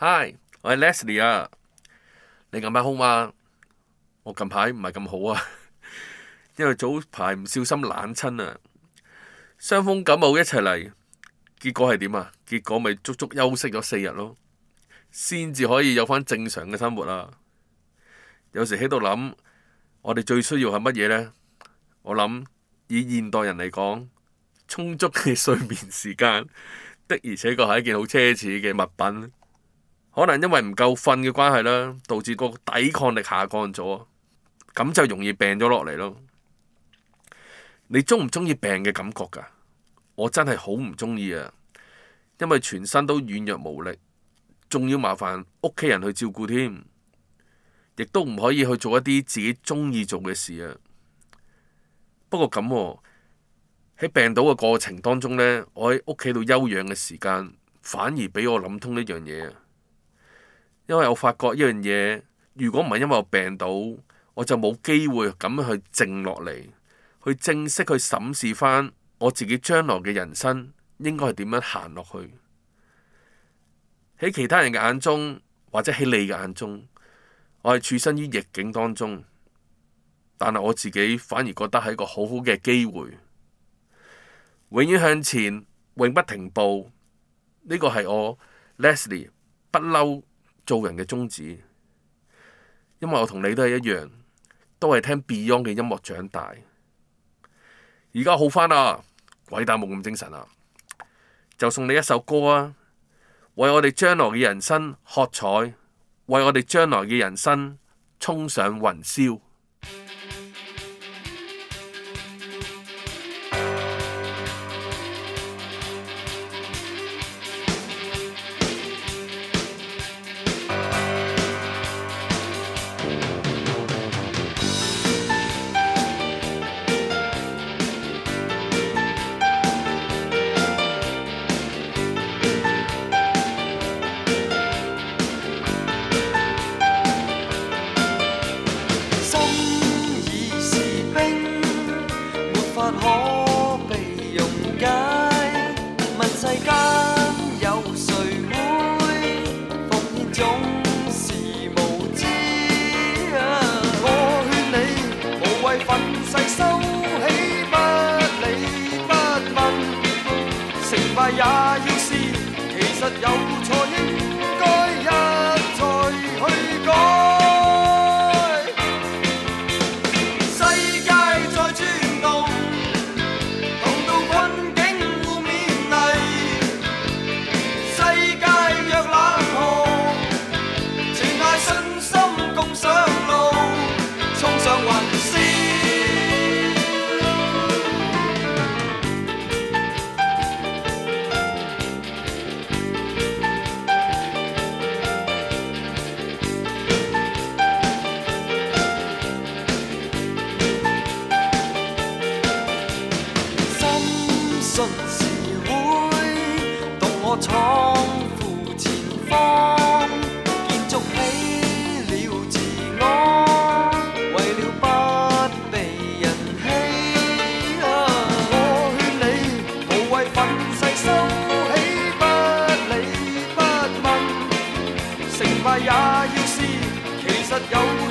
Hi，我係 Leslie 啊。你近排好嗎？我近排唔係咁好啊，因為早排唔小心冷親啊，傷風感冒一齊嚟，結果係點啊？結果咪足足休息咗4日咯，先至可以有返正常嘅生活啊。有時喺度諗，我哋最需要係乜嘢呢？我諗以現代人嚟講，充足嘅睡眠時間的而且確係一件好奢侈嘅物品。可能因為唔夠瞓嘅關係啦，導致個抵抗力下降咗，咁就容易病咗落嚟咯。你中唔中意病嘅感覺㗎？我真係好唔中意啊，因為全身都軟弱無力，仲要麻煩屋企人去照顧添，亦都唔可以去做一啲自己中意做嘅事啊。不過咁喎，喺病倒嘅過程當中呢，我喺屋企度休養嘅時間，反而俾我諗通一樣嘢啊。因為我發覺一樣嘢，如果唔係因為我病倒，我就冇機會咁樣去靜落嚟，去正式去審視返我自己將來嘅人生應該係點樣行落去。喺其他人嘅眼中，或者喺你嘅眼中，我係處身於逆境當中，但係我自己反而覺得係一個好好嘅機會，永遠向前，永不停步。呢個係我 Leslie 不嬲做人嘅宗旨，因為我同你都係一樣，都係聽 Beyond 嘅音樂長大。而家好返啦，鬼打冇咁精神啦，就送你一首歌啊，為我哋將來嘅人生喝彩，為我哋將來嘅人生衝上雲霄。 可被溶解，問世間有誰會奉獻總是無知我勸你無謂憤世收起，不理不問，成敗也要試，其實有錯應該一再去改。信是會動我闖赴前方，建築起了自我，為了不被人欺我勸你無謂憤世收起，不理不問，成敗也要試，其實有